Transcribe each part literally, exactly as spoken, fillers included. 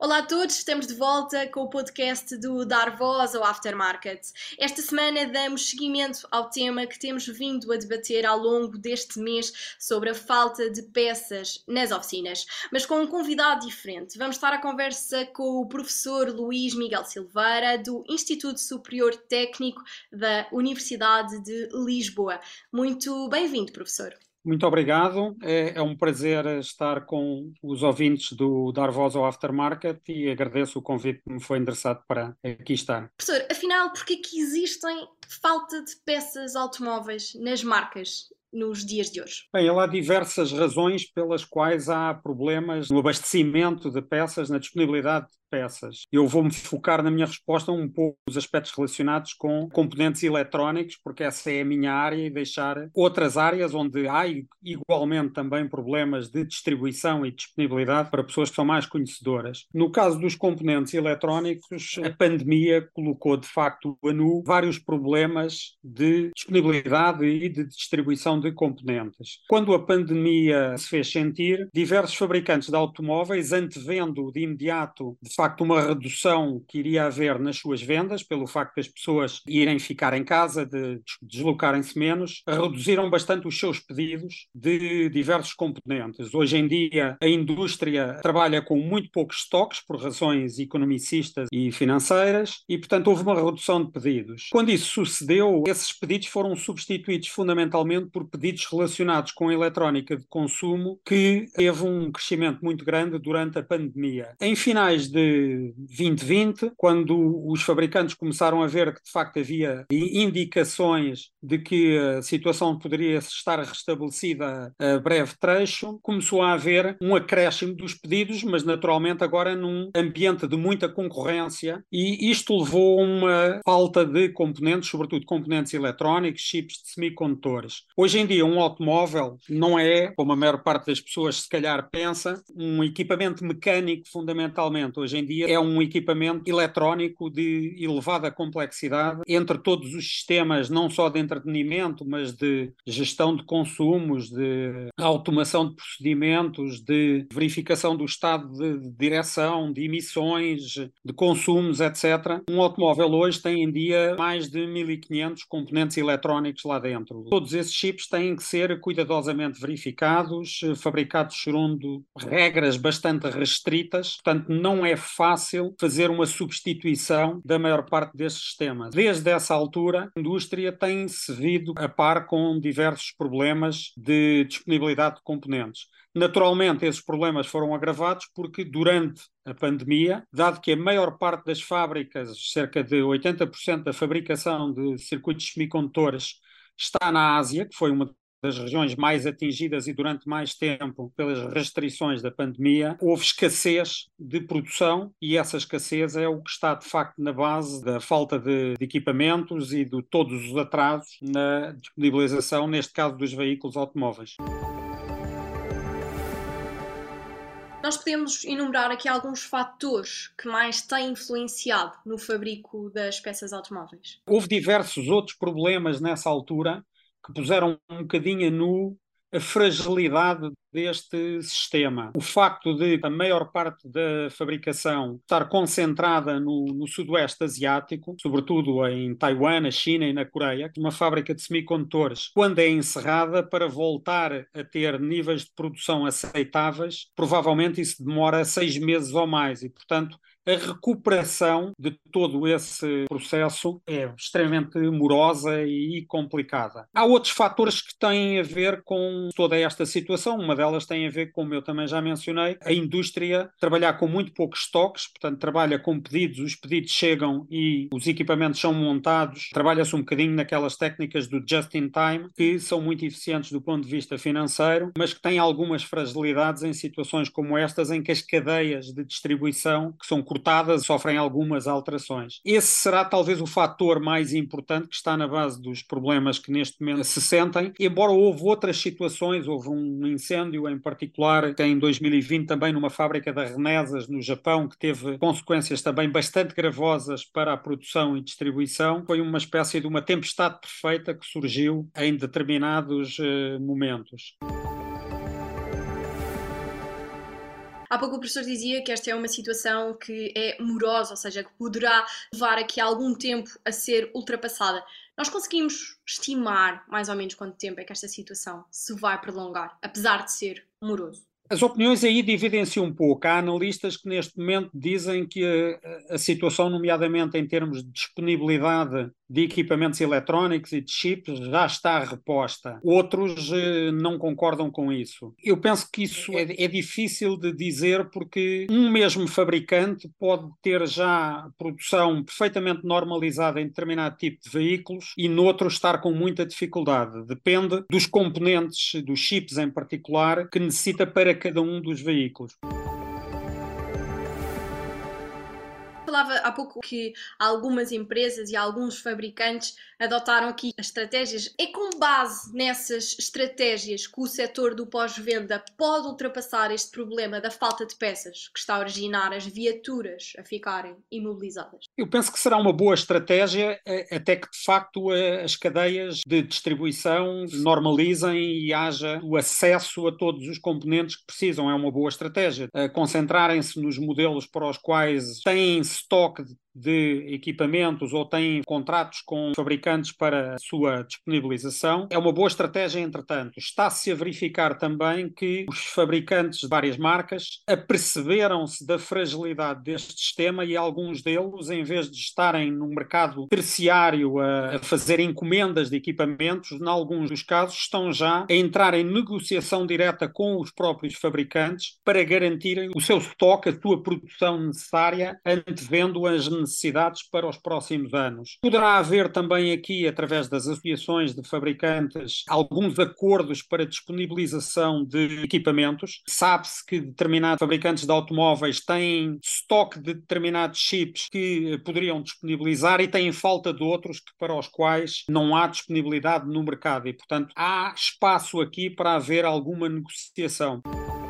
Olá a todos, estamos de volta com o podcast do Dar Voz ao Aftermarket. Esta semana damos seguimento ao tema que temos vindo a debater ao longo deste mês sobre a falta de peças nas oficinas, mas com um convidado diferente. Vamos estar à conversa com o professor Luís Miguel Silveira, do Instituto Superior Técnico da Universidade de Lisboa. Muito bem-vindo, professor. Muito obrigado, é, é um prazer estar com os ouvintes do Dar Voz ao Aftermarket e agradeço o convite que me foi endereçado para aqui estar. Professor, afinal, por que é que existem falta de peças automóveis nas marcas nos dias de hoje? Bem, há diversas razões pelas quais há problemas no abastecimento de peças, na disponibilidade de peças. Eu vou-me focar na minha resposta um pouco nos aspectos relacionados com componentes eletrónicos, porque essa é a minha área, e deixar outras áreas onde há igualmente também problemas de distribuição e disponibilidade para pessoas que são mais conhecedoras. No caso dos componentes eletrónicos, a pandemia colocou de facto a nu vários problemas de disponibilidade e de distribuição de componentes. Quando a pandemia se fez sentir, diversos fabricantes de automóveis, antevendo de imediato, de facto, uma redução que iria haver nas suas vendas, pelo facto de as pessoas irem ficar em casa, de deslocarem-se menos, reduziram bastante os seus pedidos de diversos componentes. Hoje em dia, a indústria trabalha com muito poucos estoques, por razões economicistas e financeiras, e, portanto, houve uma redução de pedidos. Quando isso sucedeu, esses pedidos foram substituídos fundamentalmente por pedidos relacionados com a eletrónica de consumo, que teve um crescimento muito grande durante a pandemia. Em finais de vinte vinte, quando os fabricantes começaram a ver que de facto havia indicações de que a situação poderia estar restabelecida a breve trecho, começou a haver um acréscimo dos pedidos, mas naturalmente agora num ambiente de muita concorrência, e isto levou a uma falta de componentes, sobretudo componentes eletrónicos, chips de semicondutores. Hoje em dia um automóvel não é, como a maior parte das pessoas se calhar pensa, um equipamento mecânico fundamentalmente. Hoje em dia é um equipamento eletrónico de elevada complexidade entre todos os sistemas, não só de entretenimento, mas de gestão de consumos, de automação de procedimentos, de verificação do estado de direção, de emissões, de consumos, etcétera. Um automóvel hoje tem em dia mais de mil e quinhentos componentes eletrónicos lá dentro. Todos esses chips têm que ser cuidadosamente verificados, fabricados segundo regras bastante restritas, portanto não é fácil fazer uma substituição da maior parte destes sistemas. Desde essa altura, a indústria tem-se vindo a par com diversos problemas de disponibilidade de componentes. Naturalmente, esses problemas foram agravados porque durante a pandemia, dado que a maior parte das fábricas, cerca de oitenta por cento da fabricação de circuitos semicondutores, está na Ásia, que foi uma das regiões mais atingidas e durante mais tempo pelas restrições da pandemia, houve escassez de produção, e essa escassez é o que está de facto na base da falta de, de equipamentos e de todos os atrasos na disponibilização, neste caso dos veículos automóveis. Nós podemos enumerar aqui alguns fatores que mais têm influenciado no fabrico das peças automóveis. Houve diversos outros problemas nessa altura que puseram um bocadinho a nu a fragilidade deste sistema. O facto de a maior parte da fabricação estar concentrada no, no sudoeste asiático, sobretudo em Taiwan, na China e na Coreia, uma fábrica de semicondutores, quando é encerrada, para voltar a ter níveis de produção aceitáveis, provavelmente isso demora seis meses ou mais, e portanto a recuperação de todo esse processo é extremamente morosa e complicada. Há outros fatores que têm a ver com toda esta situação. Uma delas tem a ver, como eu também já mencionei, a indústria trabalhar com muito poucos estoques, portanto trabalha com pedidos, os pedidos chegam e os equipamentos são montados. Trabalha-se um bocadinho naquelas técnicas do just-in-time, que são muito eficientes do ponto de vista financeiro, mas que têm algumas fragilidades em situações como estas, em que as cadeias de distribuição, que são cortadas, sofrem algumas alterações. Esse será talvez o fator mais importante que está na base dos problemas que neste momento se sentem, embora houve outras situações. Houve um incêndio em particular em dois mil e vinte também numa fábrica da Renesas no Japão, que teve consequências também bastante gravosas para a produção e distribuição. Foi uma espécie de uma tempestade perfeita que surgiu em determinados uh, momentos. Há pouco o professor dizia que esta é uma situação que é morosa, ou seja, que poderá levar aqui algum tempo a ser ultrapassada. Nós conseguimos estimar mais ou menos quanto tempo é que esta situação se vai prolongar, apesar de ser moroso? As opiniões aí dividem-se um pouco. Há analistas que neste momento dizem que a, a situação, nomeadamente em termos de disponibilidade de equipamentos eletrónicos e de chips, já está reposta. Outros eh, não concordam com isso. Eu penso que isso é, é difícil de dizer porque um mesmo fabricante pode ter já produção perfeitamente normalizada em determinado tipo de veículos e noutro estar com muita dificuldade. Depende dos componentes, dos chips em particular, que necessita para cada um dos veículos. Falava há pouco que algumas empresas e alguns fabricantes adotaram aqui as estratégias. É com base nessas estratégias que o setor do pós-venda pode ultrapassar este problema da falta de peças que está a originar as viaturas a ficarem imobilizadas? Eu penso que será uma boa estratégia até que, de facto, as cadeias de distribuição normalizem e haja o acesso a todos os componentes que precisam. É uma boa estratégia. Concentrarem-se nos modelos para os quais têm estoque de equipamentos ou têm contratos com fabricantes para a sua disponibilização. É uma boa estratégia, entretanto. Está-se a verificar também que os fabricantes de várias marcas aperceberam-se da fragilidade deste sistema e alguns deles, em vez de estarem no mercado terciário a, a fazer encomendas de equipamentos, em alguns dos casos estão já a entrar em negociação direta com os próprios fabricantes para garantirem o seu estoque, a sua produção necessária, antevendo as necessidades para os próximos anos. Poderá haver também aqui, através das associações de fabricantes, alguns acordos para disponibilização de equipamentos. Sabe-se que determinados fabricantes de automóveis têm estoque de determinados chips que poderiam disponibilizar e têm falta de outros que, para os quais não há disponibilidade no mercado e, portanto, há espaço aqui para haver alguma negociação.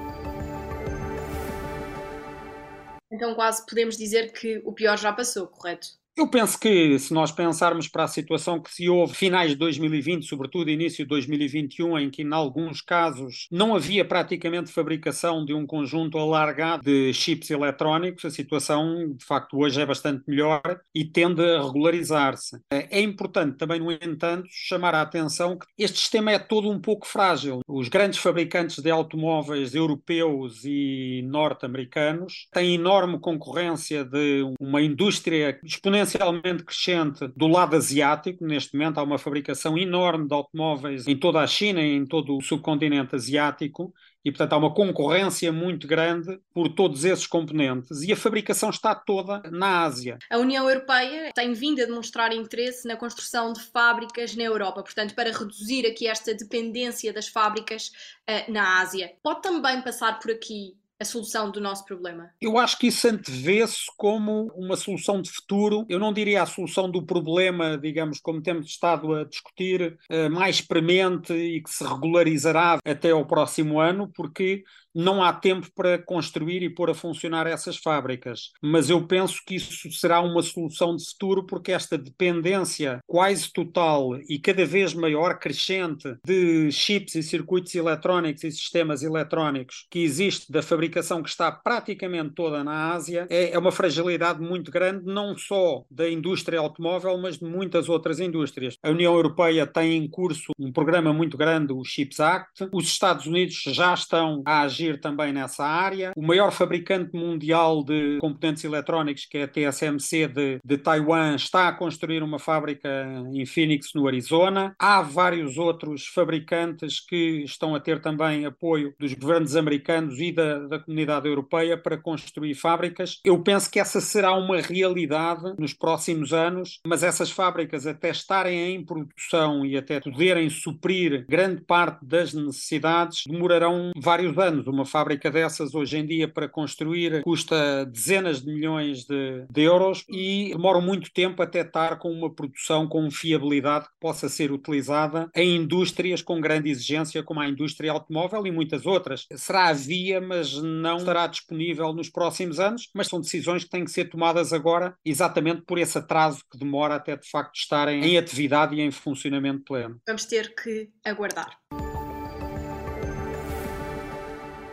Então quase podemos dizer que o pior já passou, correto? Eu penso que, se nós pensarmos para a situação que se houve finais de dois mil e vinte, sobretudo início de dois mil e vinte e um, em que, em alguns casos, não havia praticamente fabricação de um conjunto alargado de chips eletrónicos, a situação, de facto, hoje é bastante melhor e tende a regularizar-se. É importante também, no entanto, chamar a atenção que este sistema é todo um pouco frágil. Os grandes fabricantes de automóveis europeus e norte-americanos têm enorme concorrência de uma indústria exponencialmente crescente do lado asiático. Neste momento há uma fabricação enorme de automóveis em toda a China e em todo o subcontinente asiático e, portanto, há uma concorrência muito grande por todos esses componentes e a fabricação está toda na Ásia. A União Europeia tem vindo a demonstrar interesse na construção de fábricas na Europa, portanto, para reduzir aqui esta dependência das fábricas uh, na Ásia. Pode também passar por aqui a solução do nosso problema? Eu acho que isso antevê-se como uma solução de futuro. Eu não diria a solução do problema, digamos, como temos estado a discutir, mais premente e que se regularizará até ao próximo ano, porque não há tempo para construir e pôr a funcionar essas fábricas. Mas eu penso que isso será uma solução de futuro, porque esta dependência quase total e cada vez maior, crescente, de chips e circuitos eletrónicos e sistemas eletrónicos que existe da fabricação que está praticamente toda na Ásia, é, é uma fragilidade muito grande, não só da indústria automóvel, mas de muitas outras indústrias. A União Europeia tem em curso um programa muito grande, o Chips Act. Os Estados Unidos já estão a agir também nessa área. O maior fabricante mundial de componentes eletrónicos, que é a T S M C de, de Taiwan, está a construir uma fábrica em Phoenix, no Arizona. Há vários outros fabricantes que estão a ter também apoio dos governos americanos e da, da comunidade europeia para construir fábricas. Eu penso que essa será uma realidade nos próximos anos, mas essas fábricas, até estarem em produção e até poderem suprir grande parte das necessidades, demorarão vários anos. Uma fábrica dessas, hoje em dia, para construir, custa dezenas de milhões de, de euros e demora muito tempo até estar com uma produção com fiabilidade que possa ser utilizada em indústrias com grande exigência, como a indústria automóvel e muitas outras. Será a via, mas não estará disponível nos próximos anos, mas são decisões que têm que ser tomadas agora, exatamente por esse atraso que demora até, de facto, estarem em atividade e em funcionamento pleno. Vamos ter que aguardar.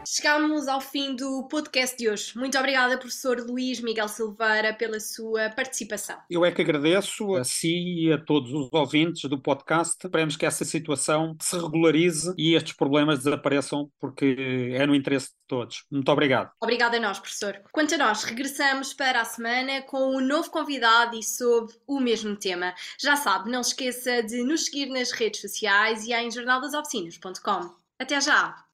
Chegámos ao fim do podcast de hoje. Muito obrigada, professor Luís Miguel Silveira, pela sua participação. Eu é que agradeço a si e a todos os ouvintes do podcast. Esperemos que essa situação se regularize e estes problemas desapareçam, porque é no interesse de todos. Muito obrigado. Obrigada a nós, professor. Quanto a nós, regressamos para a semana com um novo convidado e sobre o mesmo tema. Já sabe, não se esqueça de nos seguir nas redes sociais e em jornal das oficinas ponto com. Até já!